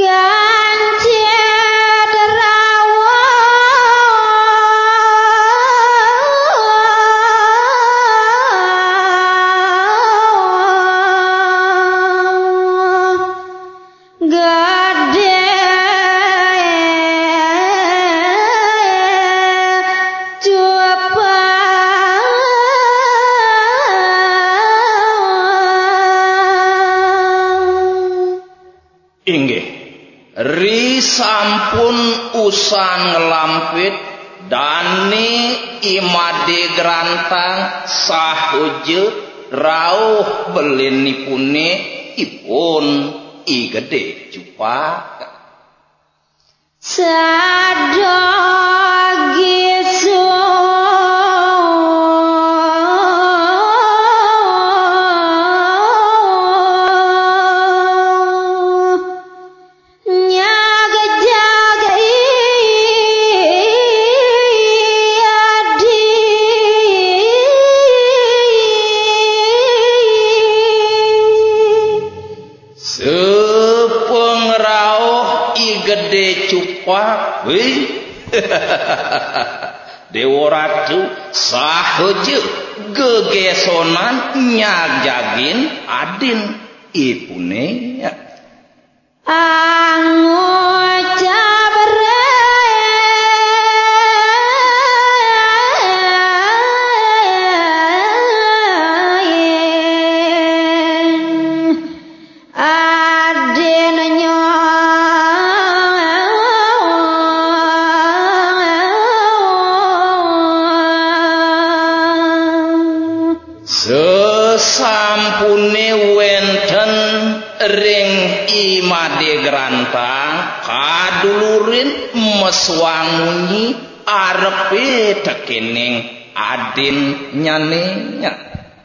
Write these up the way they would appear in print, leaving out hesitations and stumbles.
Sampun usan ngelampit dani imade grantang sahujeut rauh belinipune ipun I gede cupak cupak wih Dewa Ratu sahujeut gegesonan nyajagin adin ipune sampune wenten ring imade grantang kadulurin meswangunyi arepe tekening adin nyanenya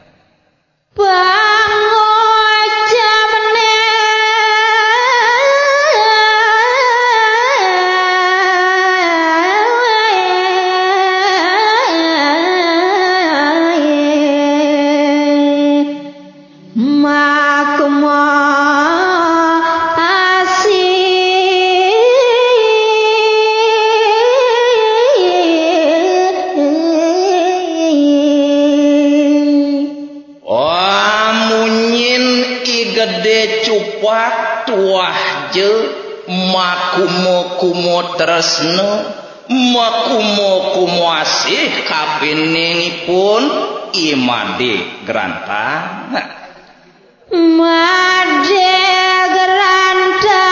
makumo tresno makumo asih kapiningipun imade grantang made grantang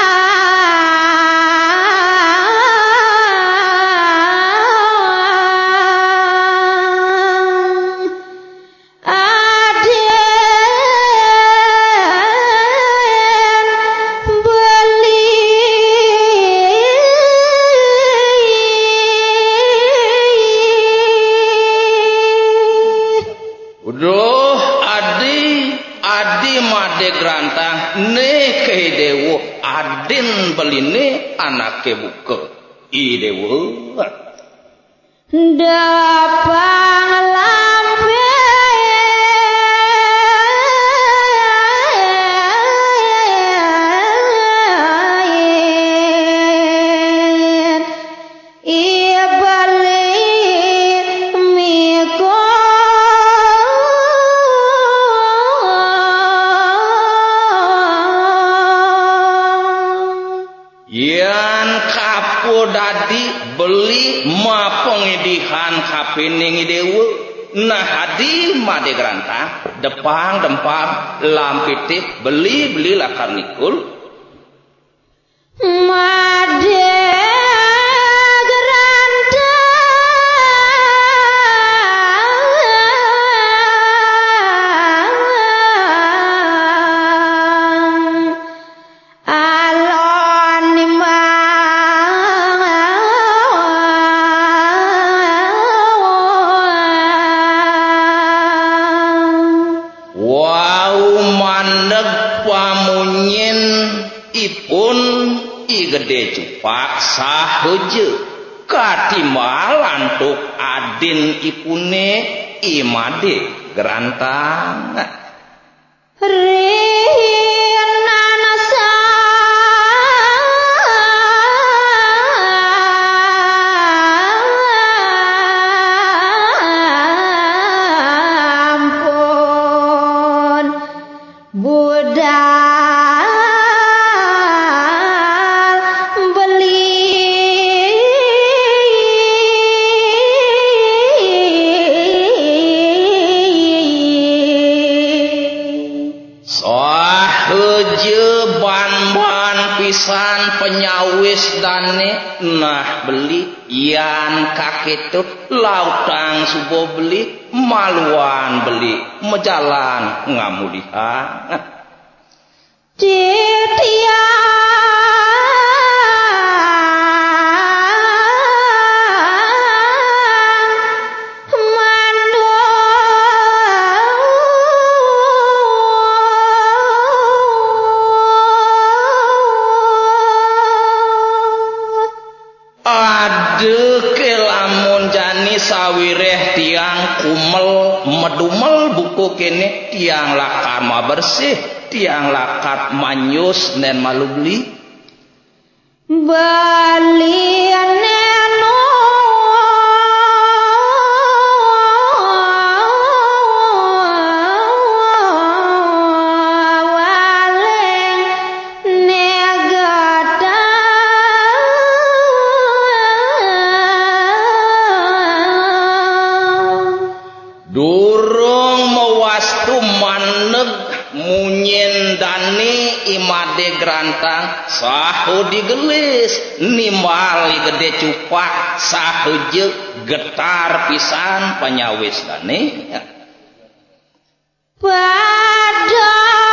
grantang ne ke dewo adin beline anake buka I dewo dapang lampe dadi beli ma pengedihan kapining dewe nah hadi made grantang depang dempang lampitik beli lakar nikul made gede cupak sahujeut katimalan tuk adin ipune imade grantang ban-ban pisan penyawis dane nah beli yan kakitu lautang subuh beli maluan beli mejalan ngamulihan sawireh tiang kumel medumel buku kene tiang lakar ma bersih tiang lakat manyus nen malu beli baliane imade grantang sahu digelis nimbali gede cupak sahu je getar pisan penyawis dane pada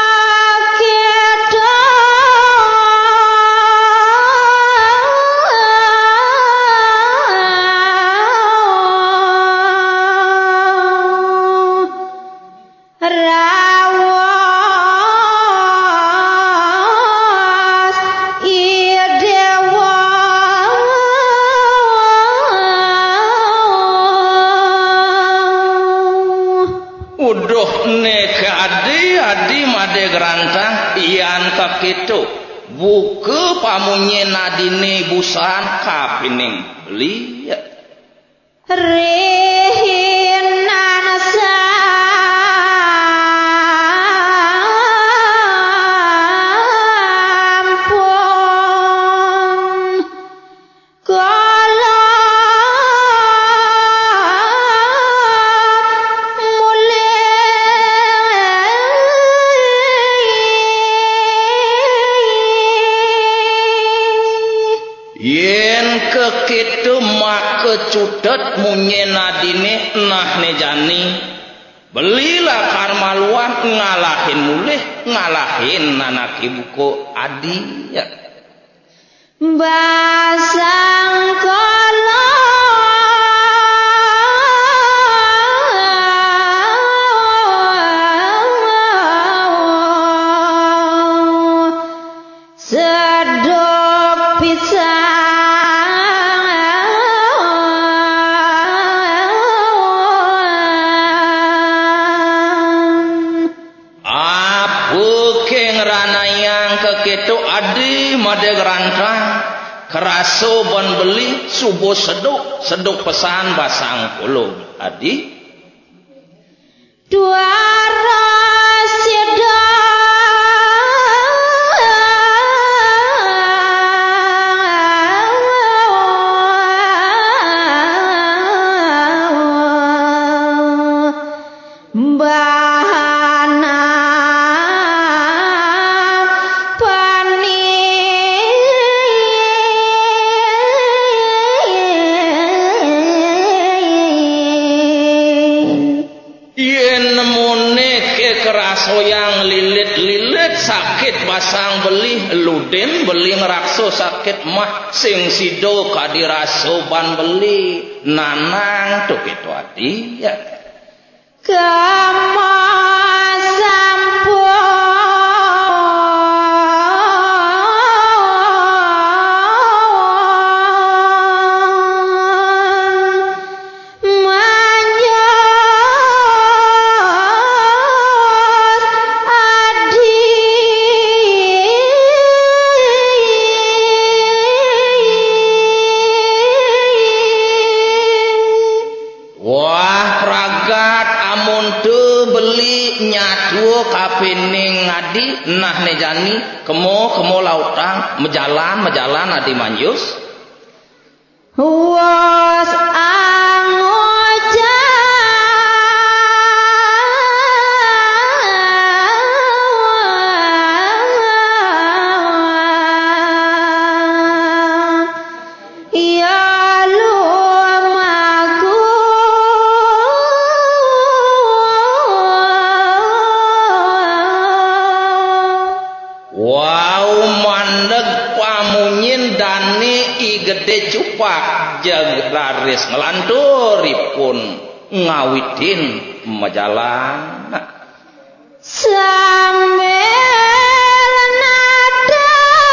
gerantang ian kakitu buku pamunye nadine busan kapining beli rehinan sampun kekitu mak kecudet munye nadine nah nejani belilah karmaluan ngalahin mulih ngalahin anak ibuku adi ya basang kala sedok pisang kekitu adi made gerantang keraso ban beli subuh seduk pesan basang puluh adi dua rasida yang lilit-lilit sakit pasang beli luden beli ngerakso sakit mah sing sido kadiraso ban beli nanang tuh gitu hati ya kamu kapining ngadi nah nejani kemo lautang mejalan adi manjus was angoja kaum mandeg pamunyin dani I gede cupak jeung raris ngelanturipun ngawidin majalan sambil nada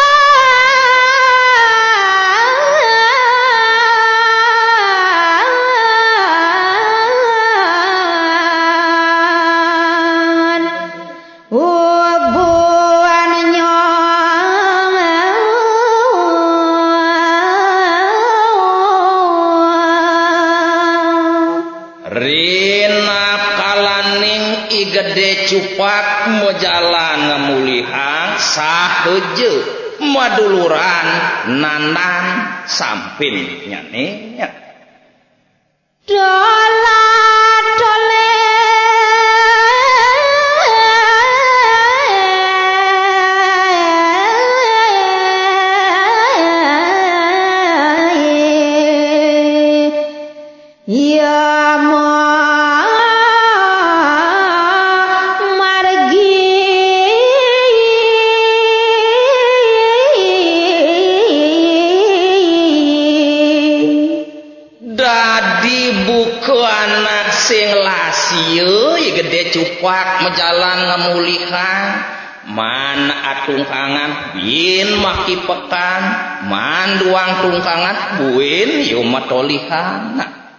gede cupak mojalan ngemulihang saheje maduluran nanan sampin nyane nya dola dole ya sing lasieun gede cupak majalan ngamulihan man atungkangan bin maki pekan man duang tungkangan buin yo matolihan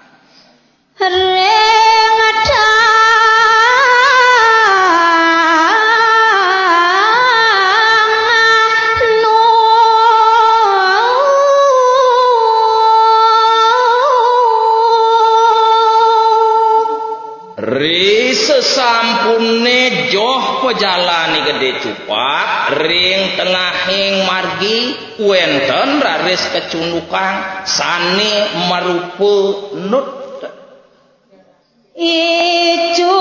sampune joh pejalani gede cupak ring tengahing margi wenten raris kecundukan sani marupu nut ijo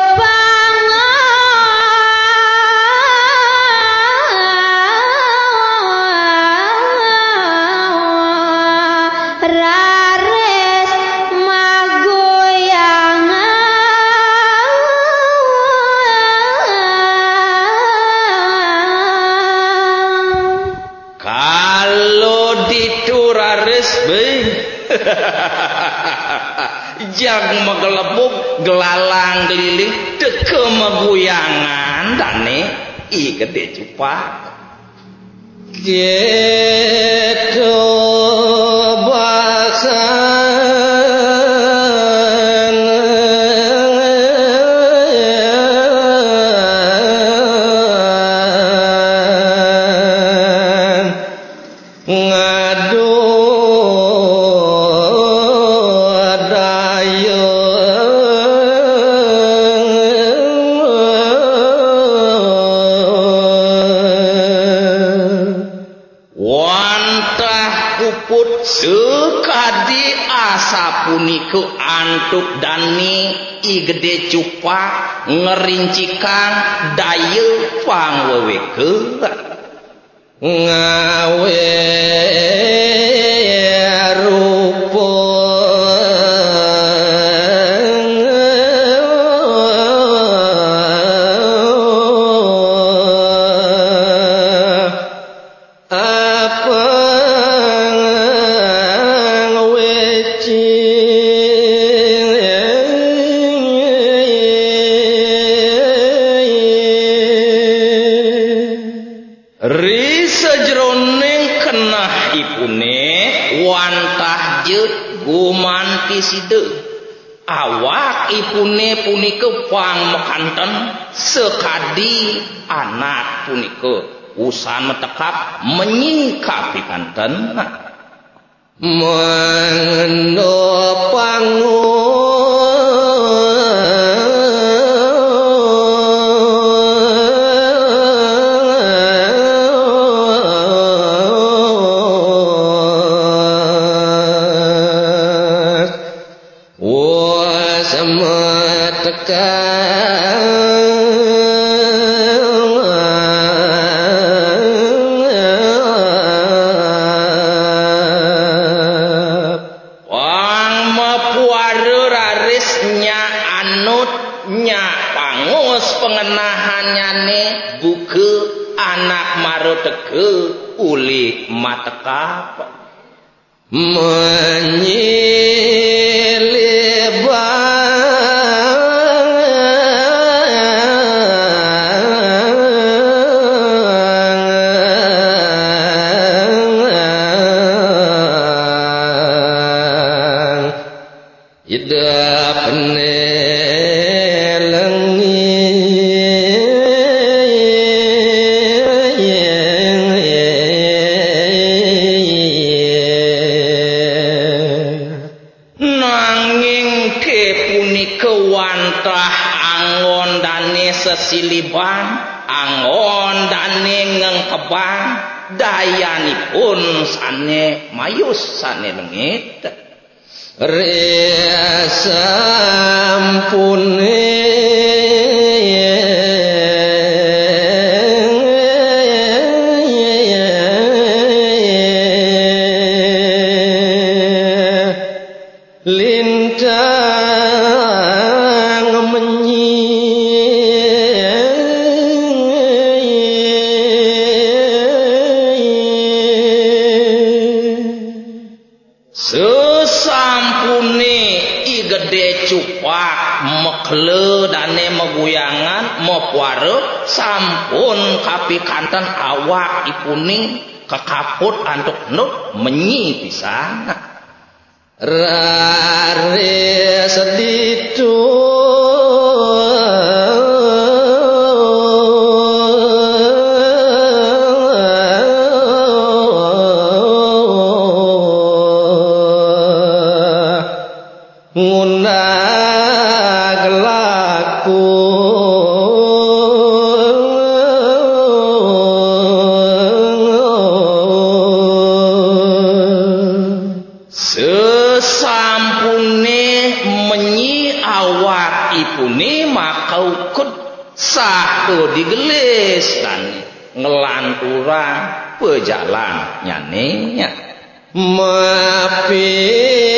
jag magelebuk gelalang geliling teke maguyangan dane I gede cupak gitu punike antuk dani I gede cupak ngerincikan daye pangweweke ngawe rupa awak ipune punike pang mekanten sekadi anak punike usan metekap menyingkapi kanten menopang wang mapuare teke uli matekap siliban angon dane ngengkebang dayanipun sane mayus sane lengit resampune mekle dane meguyangan mepuare sampun kapikanten awak ipuni kekaput antuk nuk menyi pisan rare seditu digelis dan ngelanturang pejalan nyanenya mapi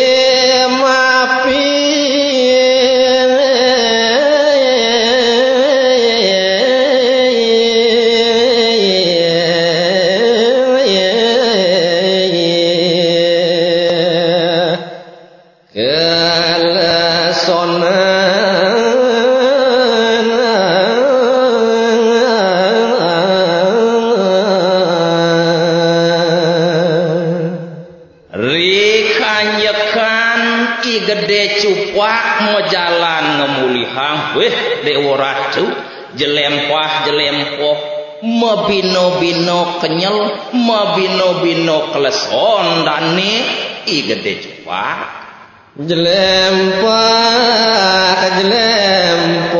jelempah mabino-bino kenyel mabino-bino kleson dane I gede cupak jelempah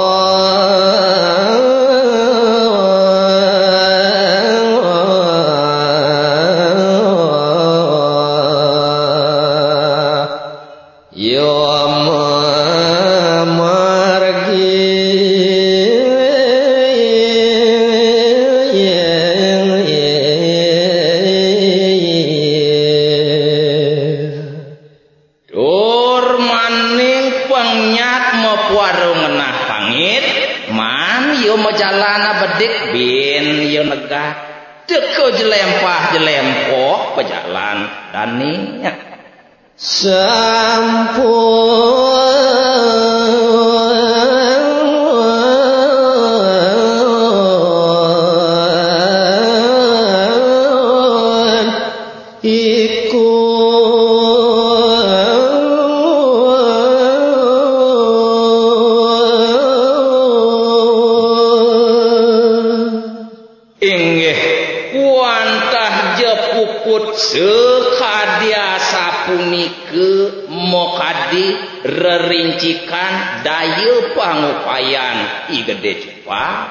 jelempah pejalan daninya sampun iku sekadya sapunike mokadi rerincikan daya pangupayan I gede cupak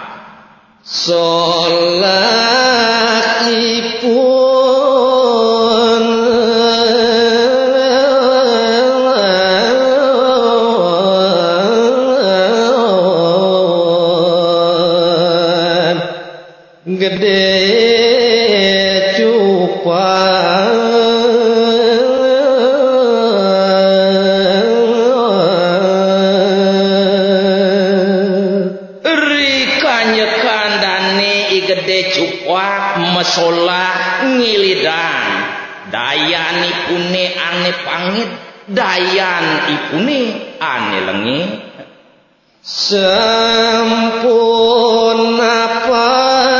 solakipun gede cupak solah ngilidan dayan ipune ane pangit dayan ipune ane lengi sampun apa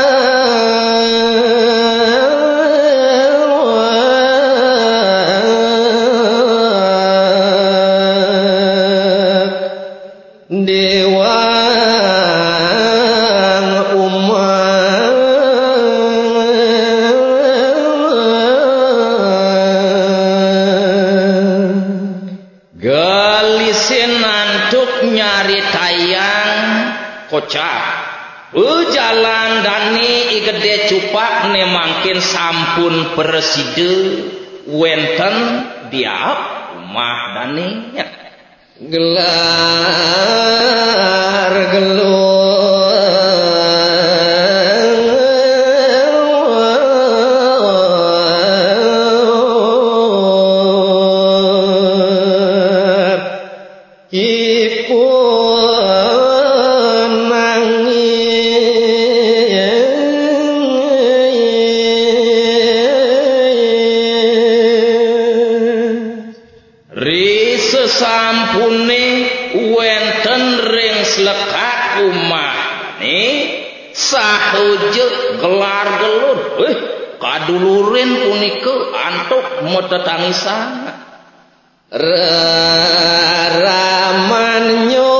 kocak jalan dani igede cupak ne mangkin sampun preside wenten diap rumah dani gelar gelur gelar gelur kadulurin punika antuk metetangisan ramanyo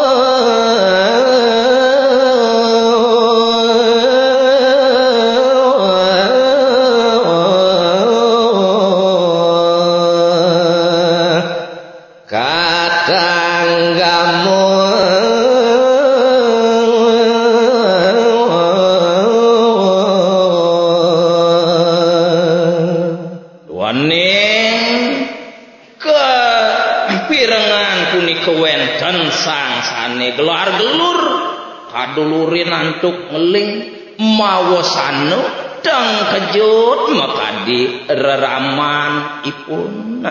gelar gelur kadulurin antuk ngeling mawasano dang kejut makadi reraman ipun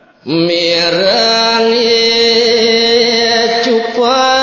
mirangi cupa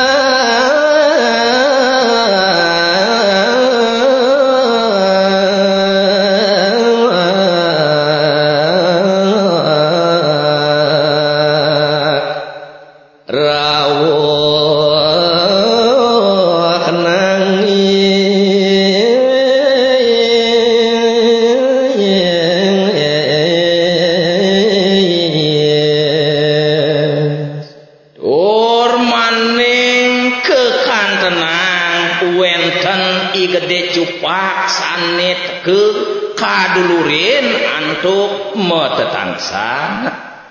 kadulurin antuk metetangsan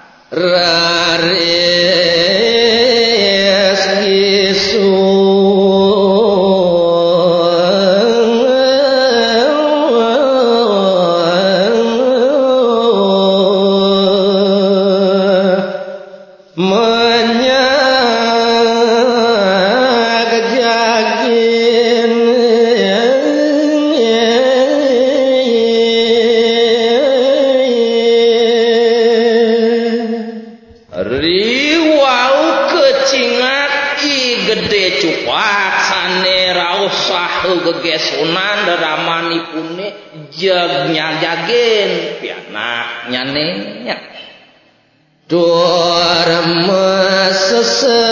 raris isu gegesunan deramanipune jegnya jagen pianak nyane dur mesese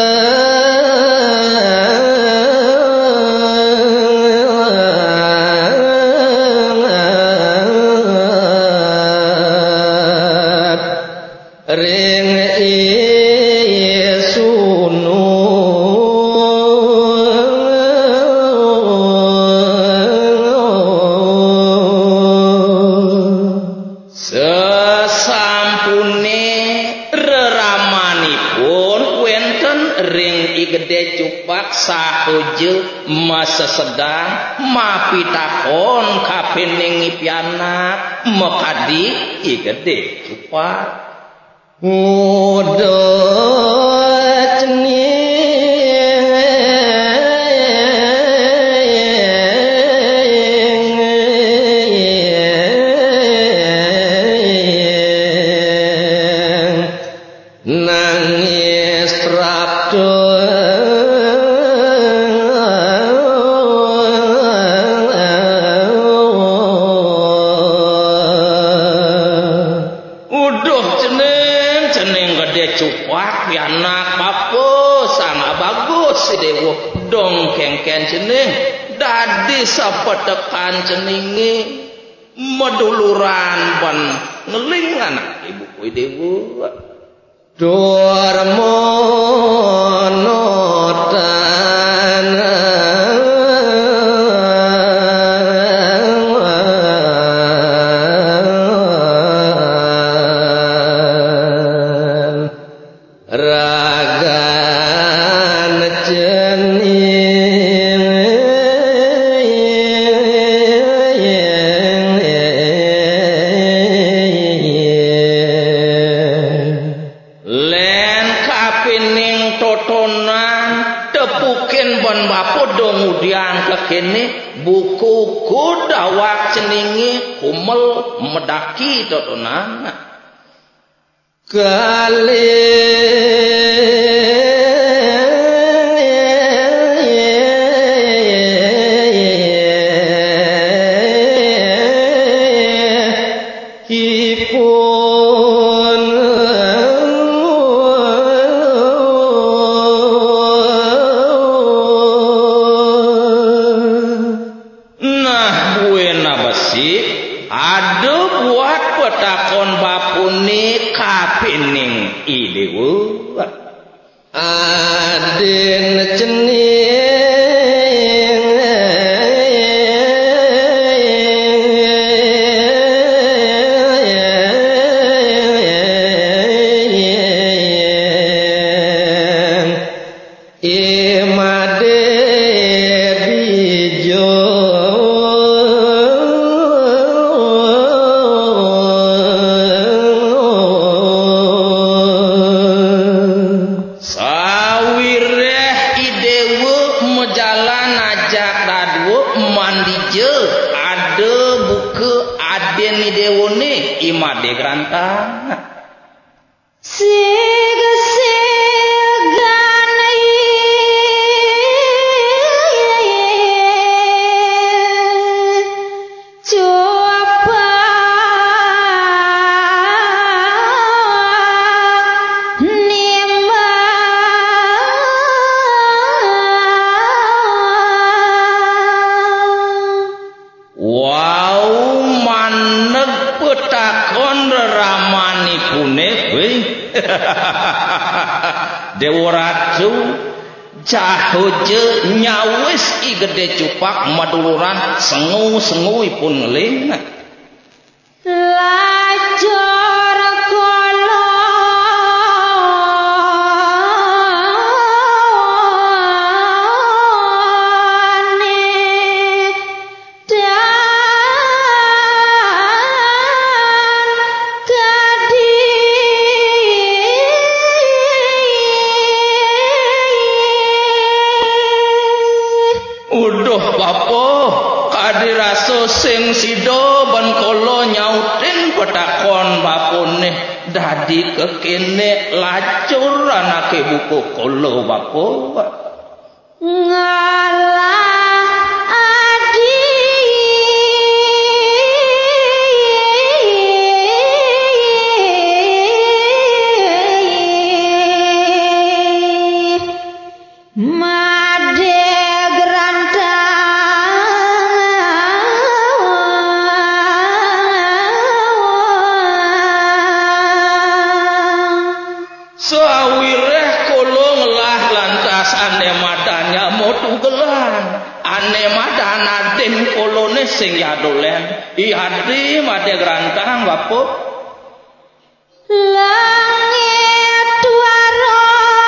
ring sahuju masa sedang mapitakon kapening pianak mekadi igede cupak ngudot ni nangis rapto pianak bapo sang bagus si dewa dong kengken cening dadi sapetekan ceningi meduluran ban ngeling anak ibu kuwi dewa Dormonotan ragan cening len kapining totonan tepukin ban bapo dongudian kekene buku kudawak ceningi kumel medaki totonan kali ipun nah buena besi ada buat petakon bapuni kapining idewu aden cening imade bijo sawireh idewu mejalan ajak dadwu mandije ada buku aden idewu nih imade grantang wow maneg petakon ramani pune weh Dewa Ratu jahoje nyawis i gede cupak maduluran sengu-senguipun ngeling lajur kolone dan gadi uduh bapo kadiraso sing sido ban kolo nyautin petakon bapone dadi kekene lacur anake buku kolo bapo ngalah adi made grantang sawireh kolo ngelah lantas ane madanya motu gelan ane madana den kolone sing yadolen ihadi made grantang bapo langit waro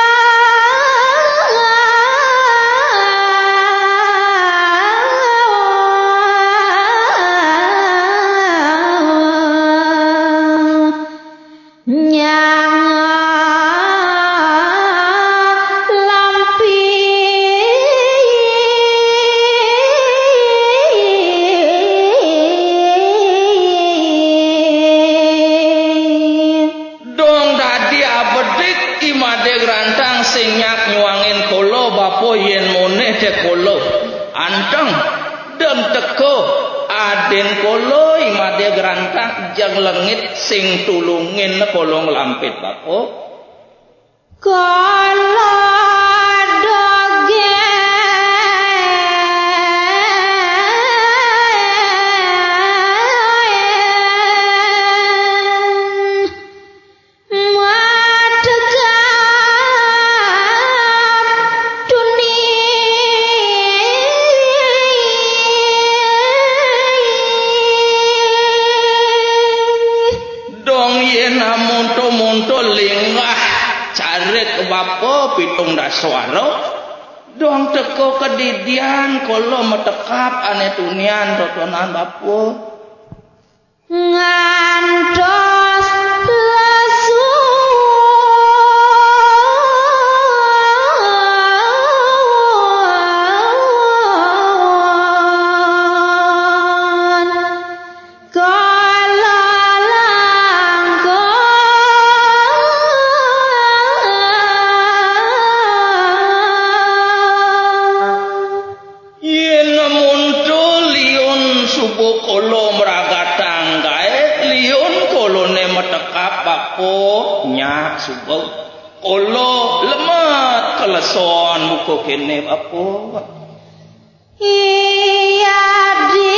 anteng dem teko aden kolo imade gerantang jang lengit sing tulungin kolong lampit bapo kala dogen madhegap dunia dong yen amonto-monto linggah carik bapa pitung daswara dong teko kedidian kala metekap ane tunian totonan bapa ngantos lesu kala langkung yen muncul liun subuh kala mragatang gae liun kolone metekap bapa nya subuh kala lemet keleson muka kene bapa iya di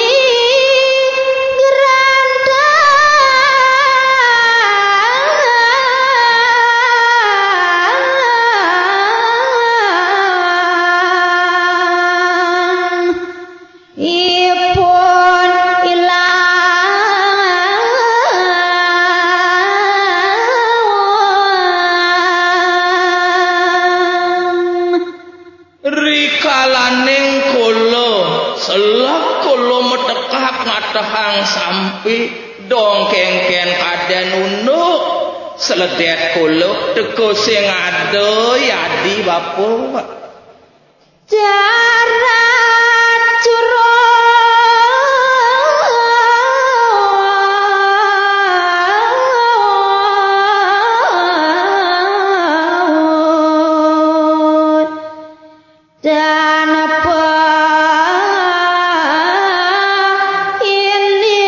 gerandang ipun ilang rikalaning kala selak kala metekap ngatahang sampai dong kengken kaden unduk seledet kala teko sing ado yadi bapa darat curut dan apa ini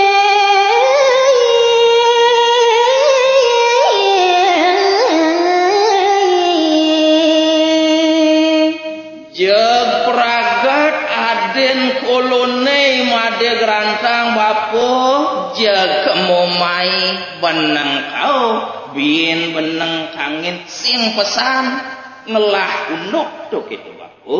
jeg pragat aden kolone made gerantang bapa jeg kemomai beneng kau bin beneng kangin sing pesan ngelah unduk tuh gitu bapa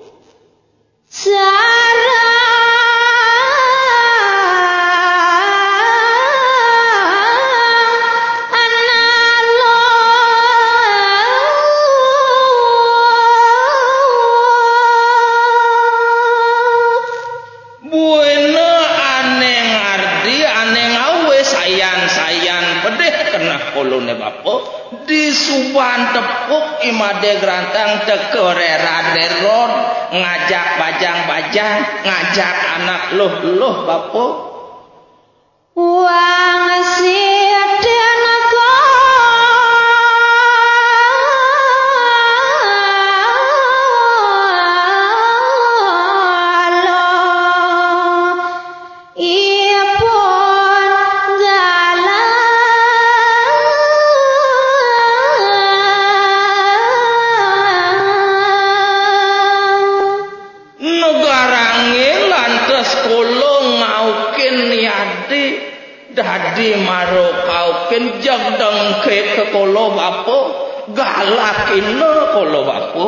buena aneh ngardi aneh ngawe sayan-sayan pedeh kena kolone bapa di suban tepuk imade gerantang tekerera-reron ngajak bajang-bajang ngajak anak luh-luh bapa wang siden kala ipun galang negarange lantas kolong ngaukin yadi dadi maro kaukin jagdang ke kolo bapa galakina kolo bapa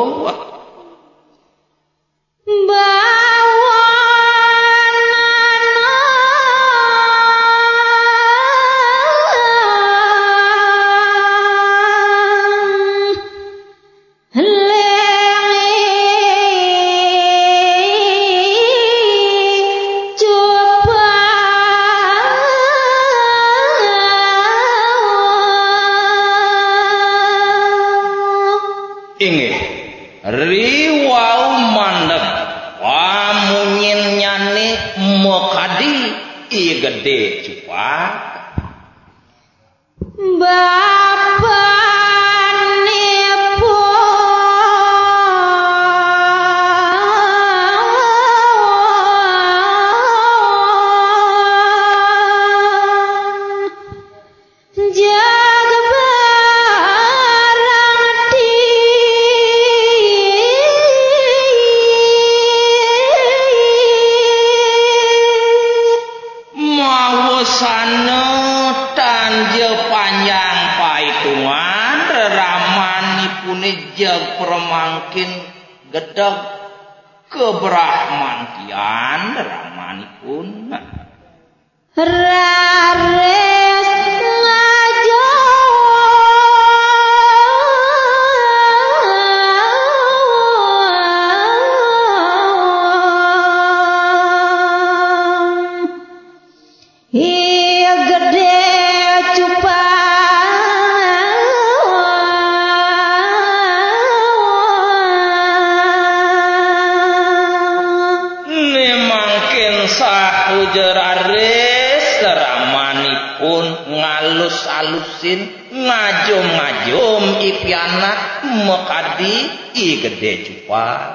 inggih riwau mandeg pamunyin nyane mekadi ieu gede cupak jag barang Anu tanje panjang paitungan ramanipun jeg permangkin gedeg kebrahmantian ramanipun rares ngajo iya gede jerares ramanipun ngalus-alusin ngajom-ngajom ipianak mekadi i gede cupak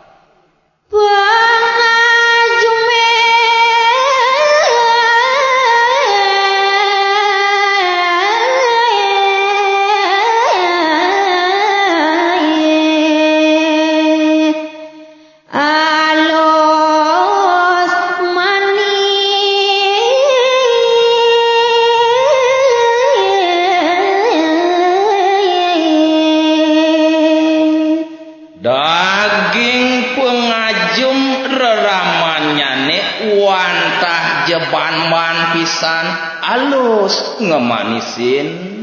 daging pengajum reramanyane wantah jeban-ban pisan alus ngemanisin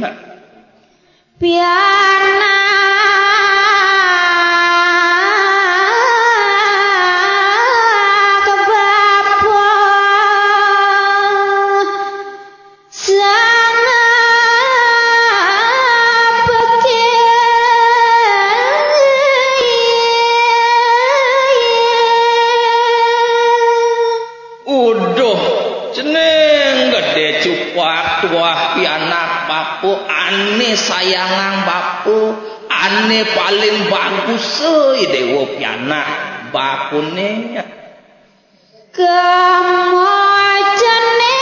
piana kebapa sana cupak tuah pianak bapu ane sayangang bapu ane paling bagus seuy dewa pianak bapune kemojane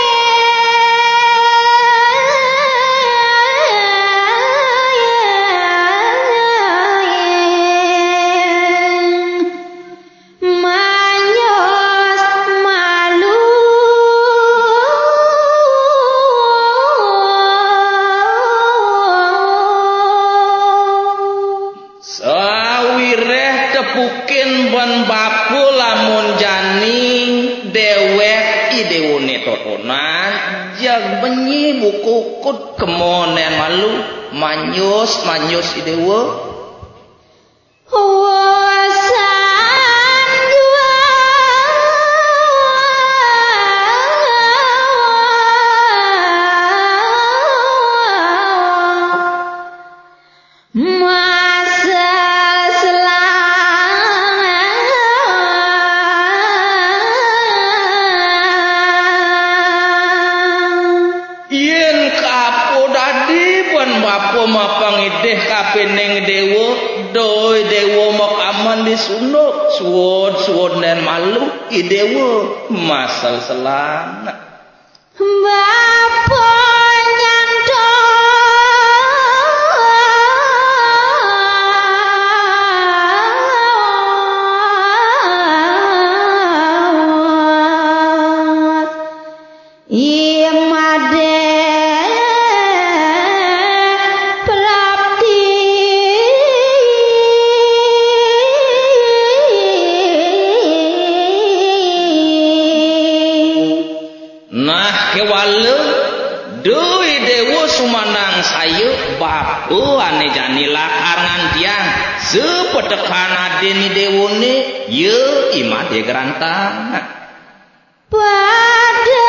tepukin ban bapu lamun janing dewek idewone totonan jag benyi bukukut kemonen malu manyus idewo mapangideh kapeneng dewo doi dewo makaman disunuk suwon dan malu idewo masal selang bapo nyanto iya made doi dewo sumanang sayu bapu ane jani lakaran tiang sepetekan adeni dewone ye imade gerantang pada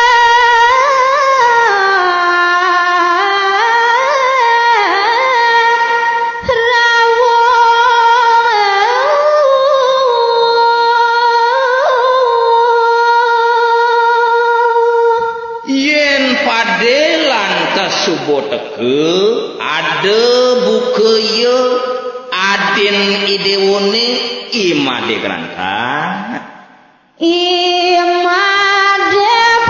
subo teke ada buke ye adin idewone imade gerantang imade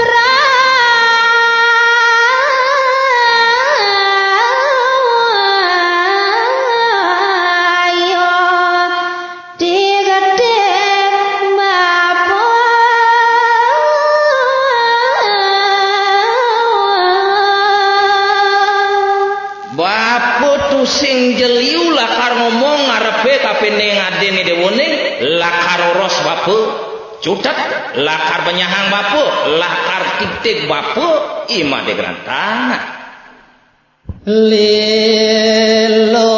brayo digede bapo sing jeliu lakar ngomong ngarepe kapene ngadene dewone lakar oros bape cutet lakar penyahang bape lakar titik bape imade grantana lilo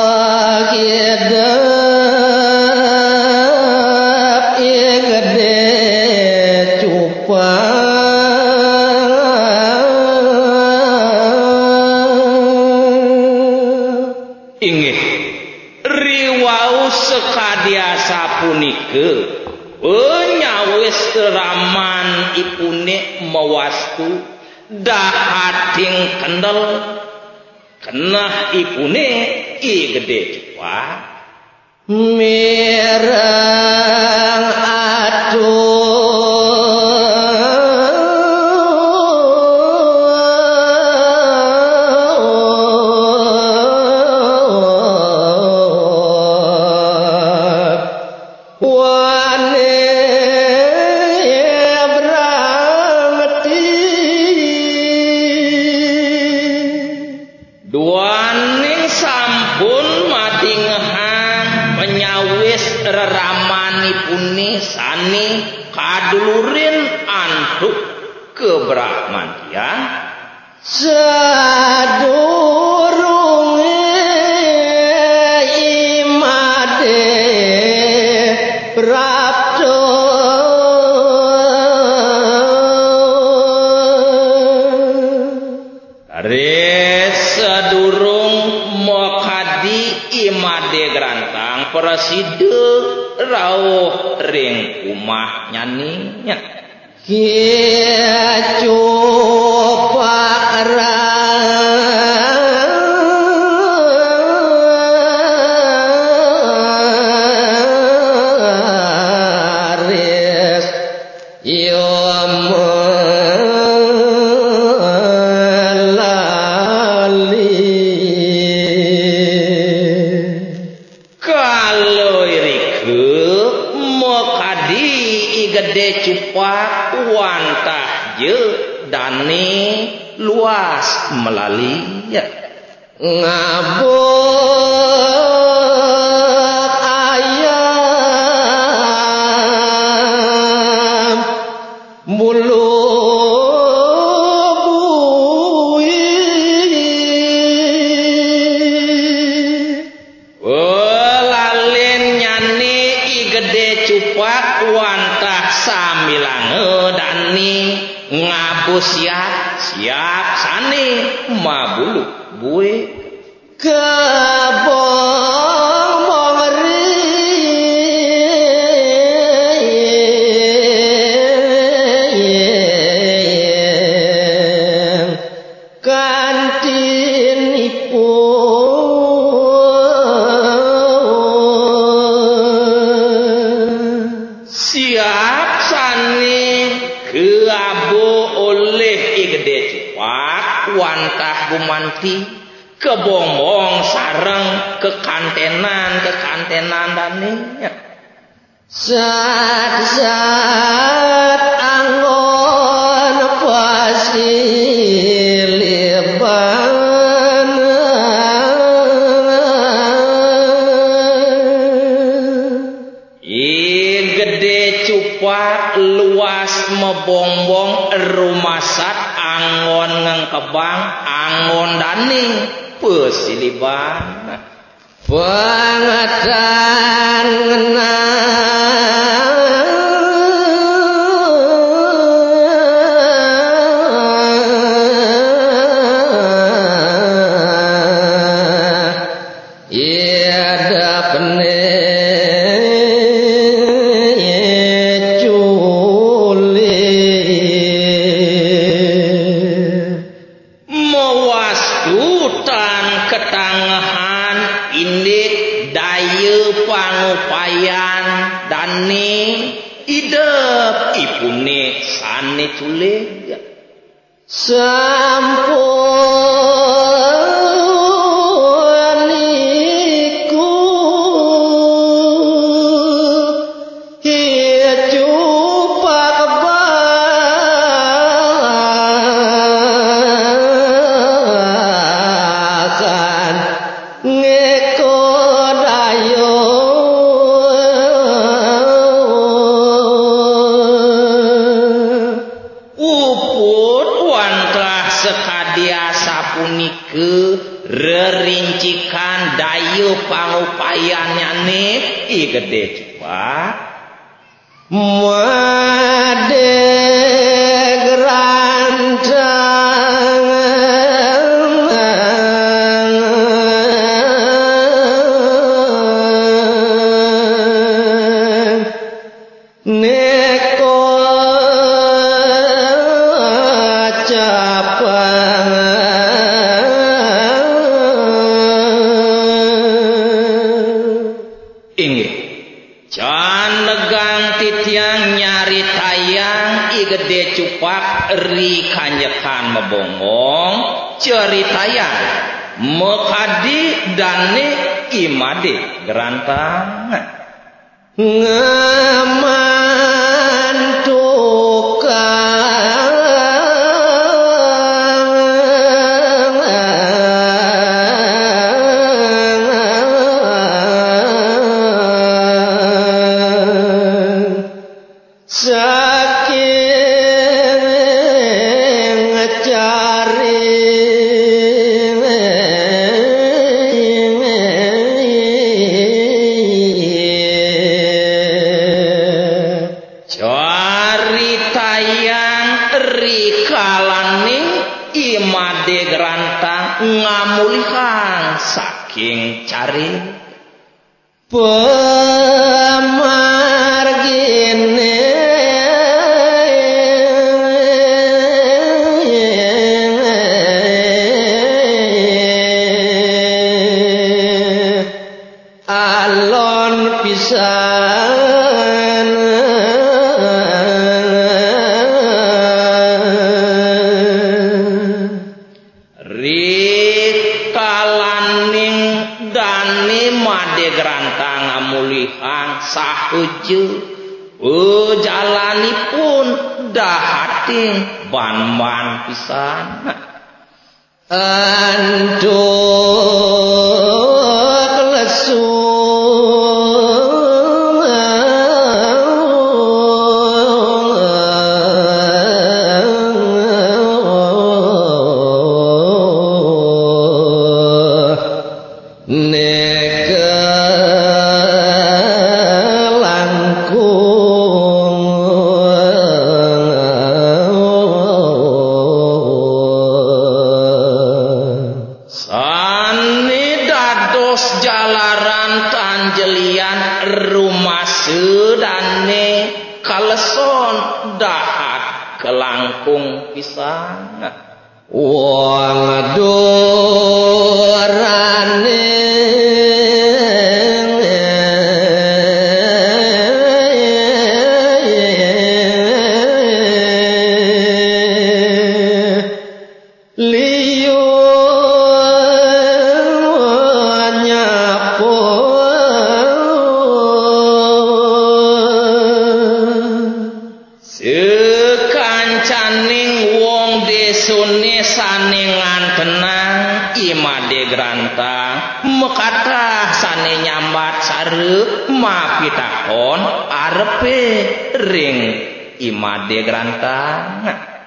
kiedap igede cupa inggih riwau sekadiasa punike nyawis raman ipune mawastu dahating kendel kenah ipune i gede cupa mirang duaning sampun madingehan penyawis reramanipune sani kadulurin antuk kebrahmantian sadurunge imade prapto sedurung mokadi imade grantang preside rawuh ring umah nyaninya kicupak raris gede cupak wantah je dani luas melali ya ngabuk ayam bulu lalin nyani i gede cupak wantah samilange dani ngabus siap sani mabulu bue kebong mongri kantin siap sani keabo oleh igede cupak wantah gumanti kebomong sareng kekantenan daninya Sat angon pasiliban gede cupak luas mebongbong rumasat angon ngengkebang angon daning pesiliban Pengatan ketangahan indik daya pangupayan dani idep ipune sane culeg sampun iku hicupak bakan sekadia sapunike rerincikan dayu pangupayannya nih I gede cepat made gerancang neko inggih can legang titiang nyari tayang I gede cupak ri kanyekan mebongong ceritayang mekadi dane imade gerantang saking ngecari cari tayang rikalaning imade gerantang ngamulihan saking cari pemargine alon pisan rikalaning dani made gerantang ngamulihan saheje jalanipun dahating ban-ban pisan anduk lesu sani dados jalaran tanjelian rumah sedane kaleson dahat kelangkung pisan wong durane liyu nyapo sekancaning wong desune saningan tenang imade gerantang mekatah sane nyambat sare mapitakon arepe ring imade gerantang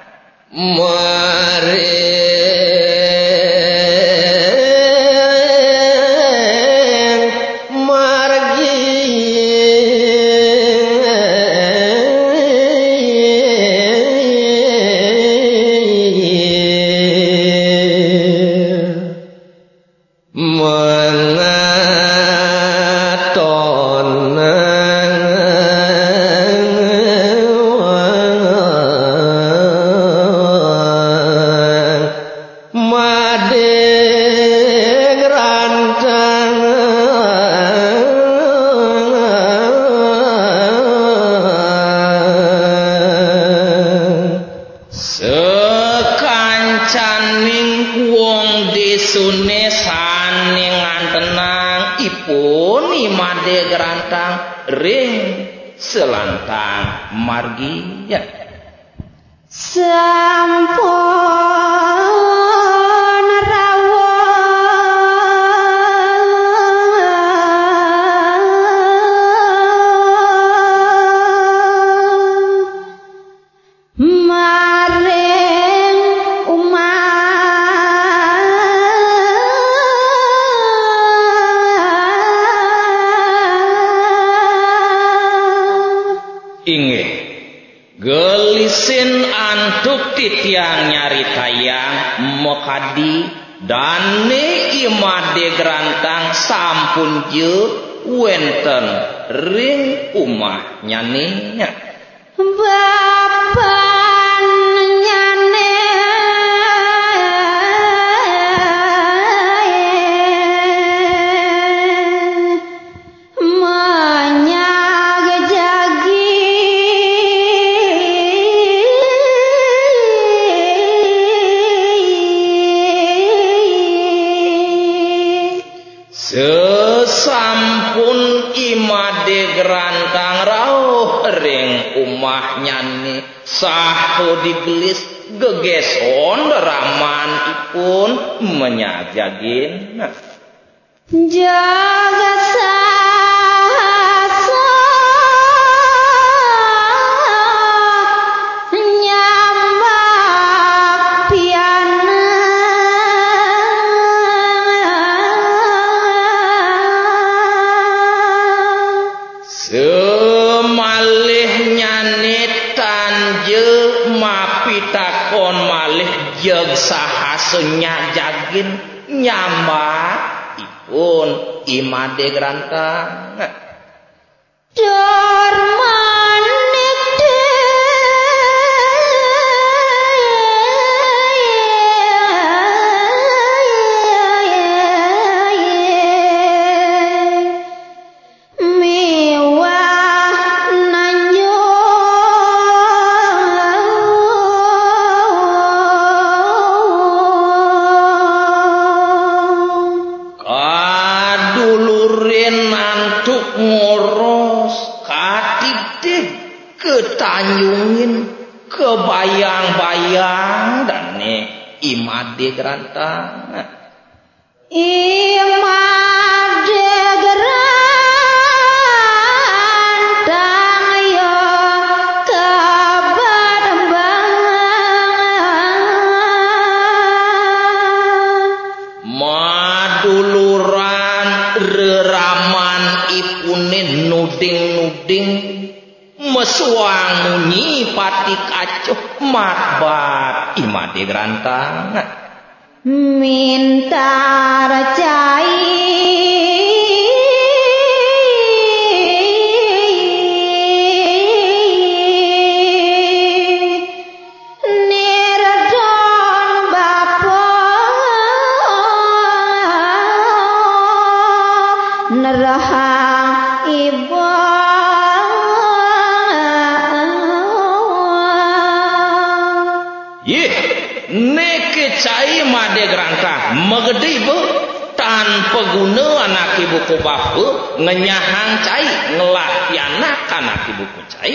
desune saningan tenang ipun imade gerantang ring selantang margi ya sampun rawuh maring umat titiang nyari tayang mekadi dan imade gerantang sampun je wenten ring umah nyaninya bapan nyane menyag jagi sesampun imade gerantang rauh ring umah nyani saho digelis gegeson raman ipun menyajagin jaga sahasa nyambak piana semalih nyanitan je mapitakon malih jeg sahasenya jagin nyambak ipun imade gerantang dor manik mewah nanyo kadulurin nantuk ngoros katitip ketanyungin kebayang-bayang dan imade gerantang imade gerantang yo kabadembangan maduluran reraman ipunin nuding-nuding mesuang munyi pati kacuh matbat imade gerantang minta racai nirdon bapa nerahang ibu yeh neke cai made gerantang megede be tanpa guna anak ibu ku bapu ngenyahang cai ngelatih anak ibu ku cai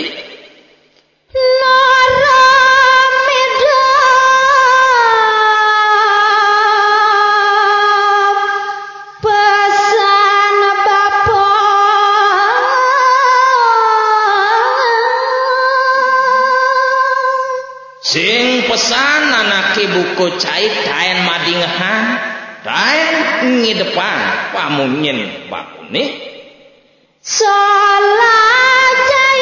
pesan bapa sing pesan anak ibu ku cai daen madingahan daen ngidepan pamunyin bakune salah cai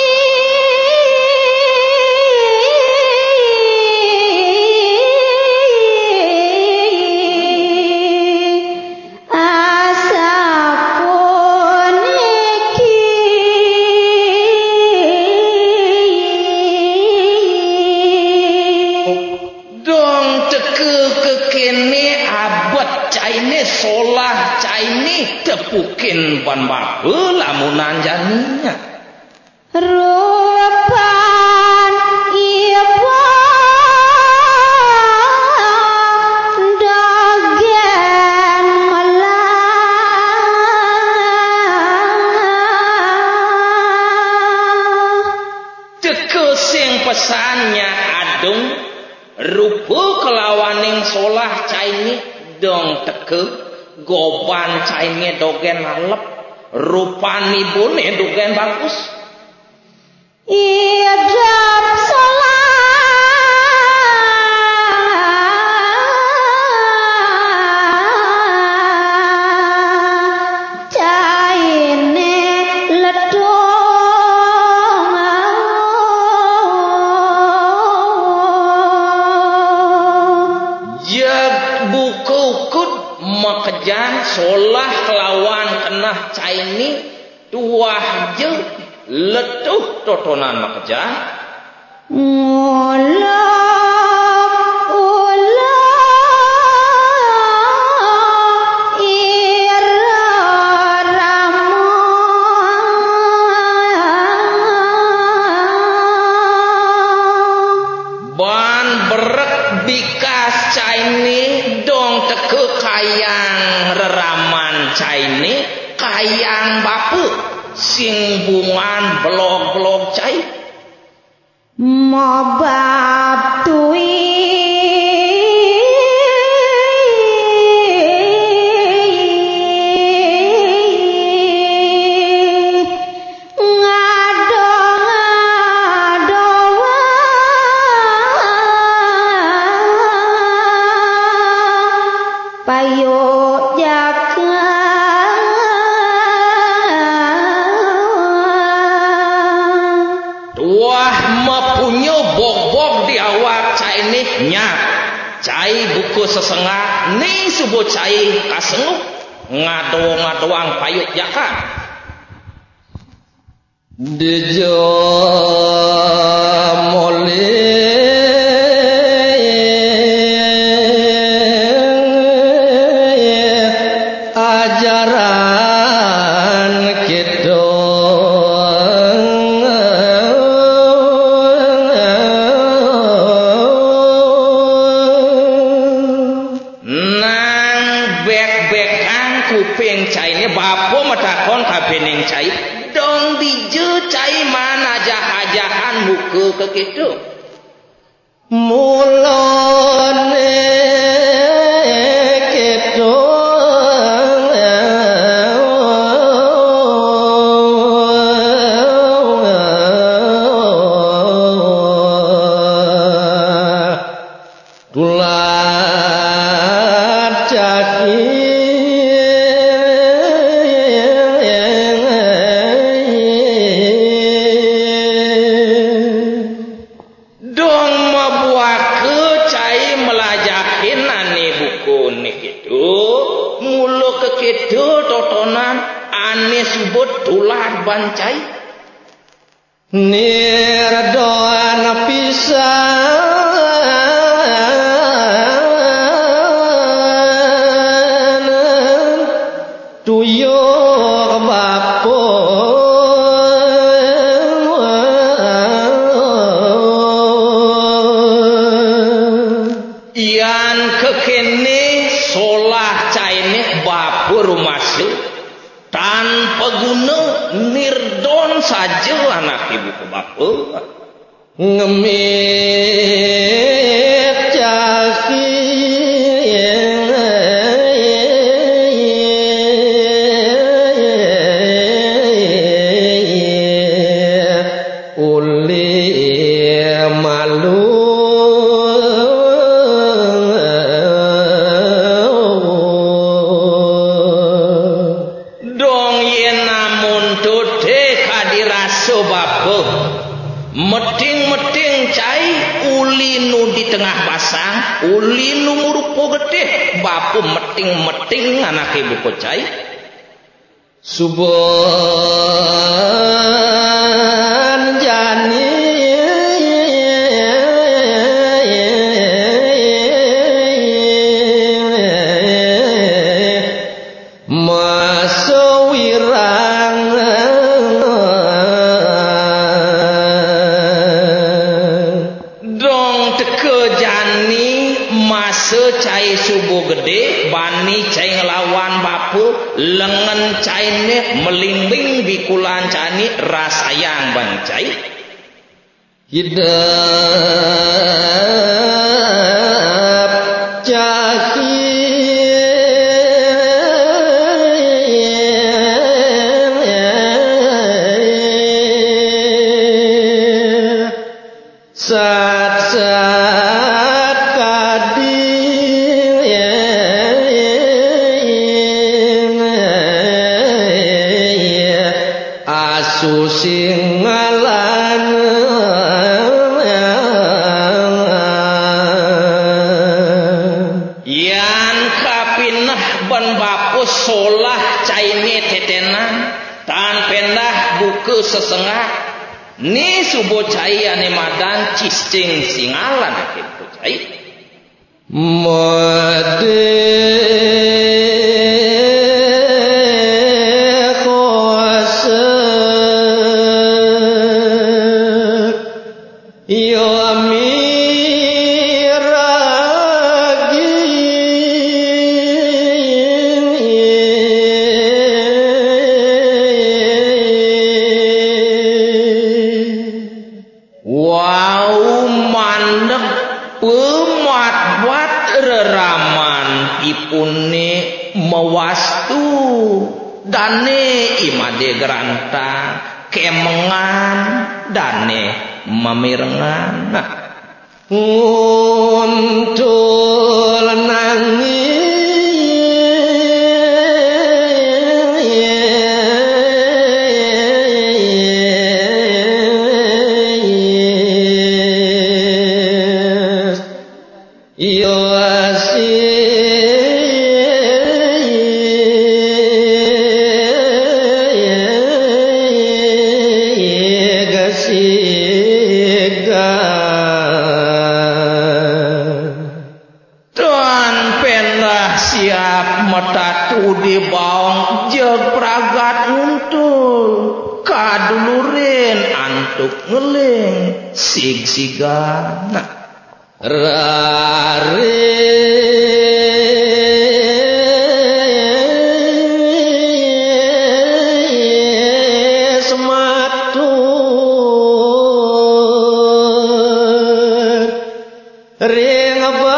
asapun iki dong teke kekene abad caine solah caine tepukin ban bape lamunan janinya rupan ibu dagen melah teke sing pesannya adung rupa kelawaning solah caine dong teke goban caine dogen alep rupani bone dogen bagus idap salah caine ledong makejan solah kelawan kenah caini tuah je letuh totonan makejan ban berek bikas caini dong teke kayang reraman caini kayang bapu sing bungan blog-blog cai mabab tui payo jaga tuah mempunyai bog-bog di awak cai ni nyak cai buku sesengah ni subuh cai kasenguk ngado-ngadoang payuk jaka Dejo mole ajaran kita nang bek-bekan kuping cai ni bapo matakon kabening cai dong dije cai mana jahat-jahan muka ke kita mulane kita tulat caki dong membuat ke cai melajahin ane buku ni gitu mulu ke kita totonan ane subut tulat bancai nirdoan pisan tuyuk bapo ian kekene solah cai ni bapu rumah su tanpa guna nirdon saja anak ibu ke bapu ngemit caki uli malu dong yen namun tude kadiraso bapu meting-meting cai uli nu di tengah pasang uli nu murupo gede bapu meting-meting anak ibu ko cai Suban jani masawirang dong teke jani masa cai subuh gede bani cai ngelawan bapu lengan cai ni melingbing bikulan cani rasayang bang cai hidup caki sat-sat kading asu sing ngalan pan bapus solah caine tetenan tan pendah buku sesengah ni subo cai ane madan ciscing singalan kitu cai made mewastu dane imade geranta kemengan dane mamirengan untul nangis yo di baong jeg pragat untul kadulurin antuk ngeling sig-sigan rare sematur ring apa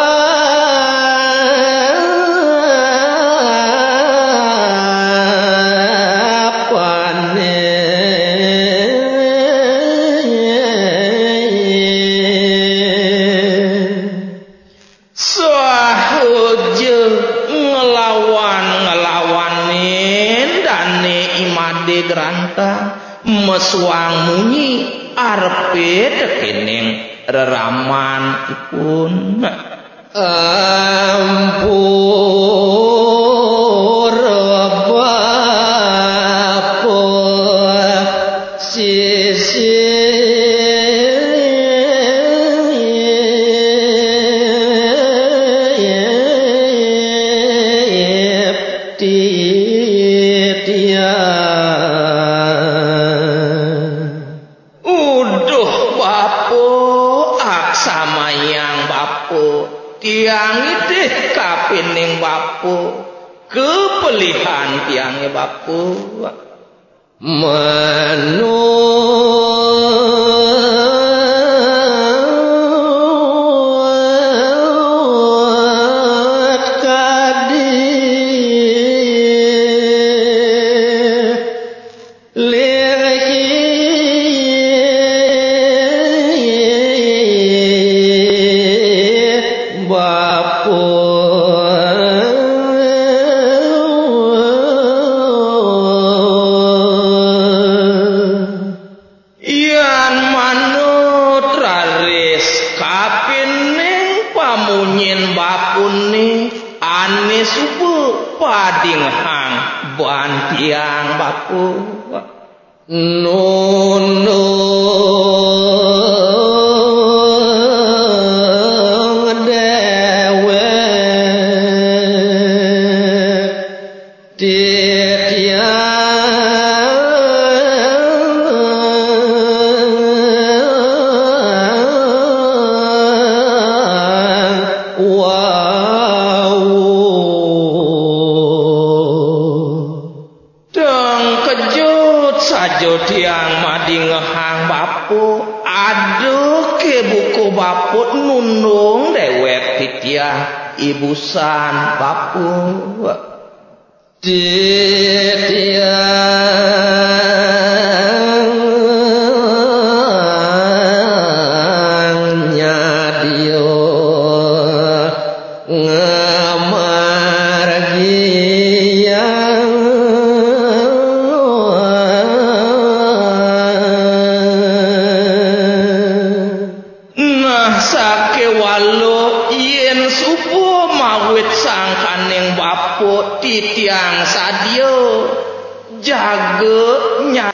mesuang munyi arpe dekening reraman ipun ampur bapa sisi tiang itu kapining bapu kepelihan tiangnya bapu manut kadi padinghang bantiang bapu nunung dewe tiang madingehang bapu aduh ke buku bapu nunung dewek titiah ibusan bapu titiangnya dio sake walu yen subuh mawit sangkaning bapuk titiang sadio jaga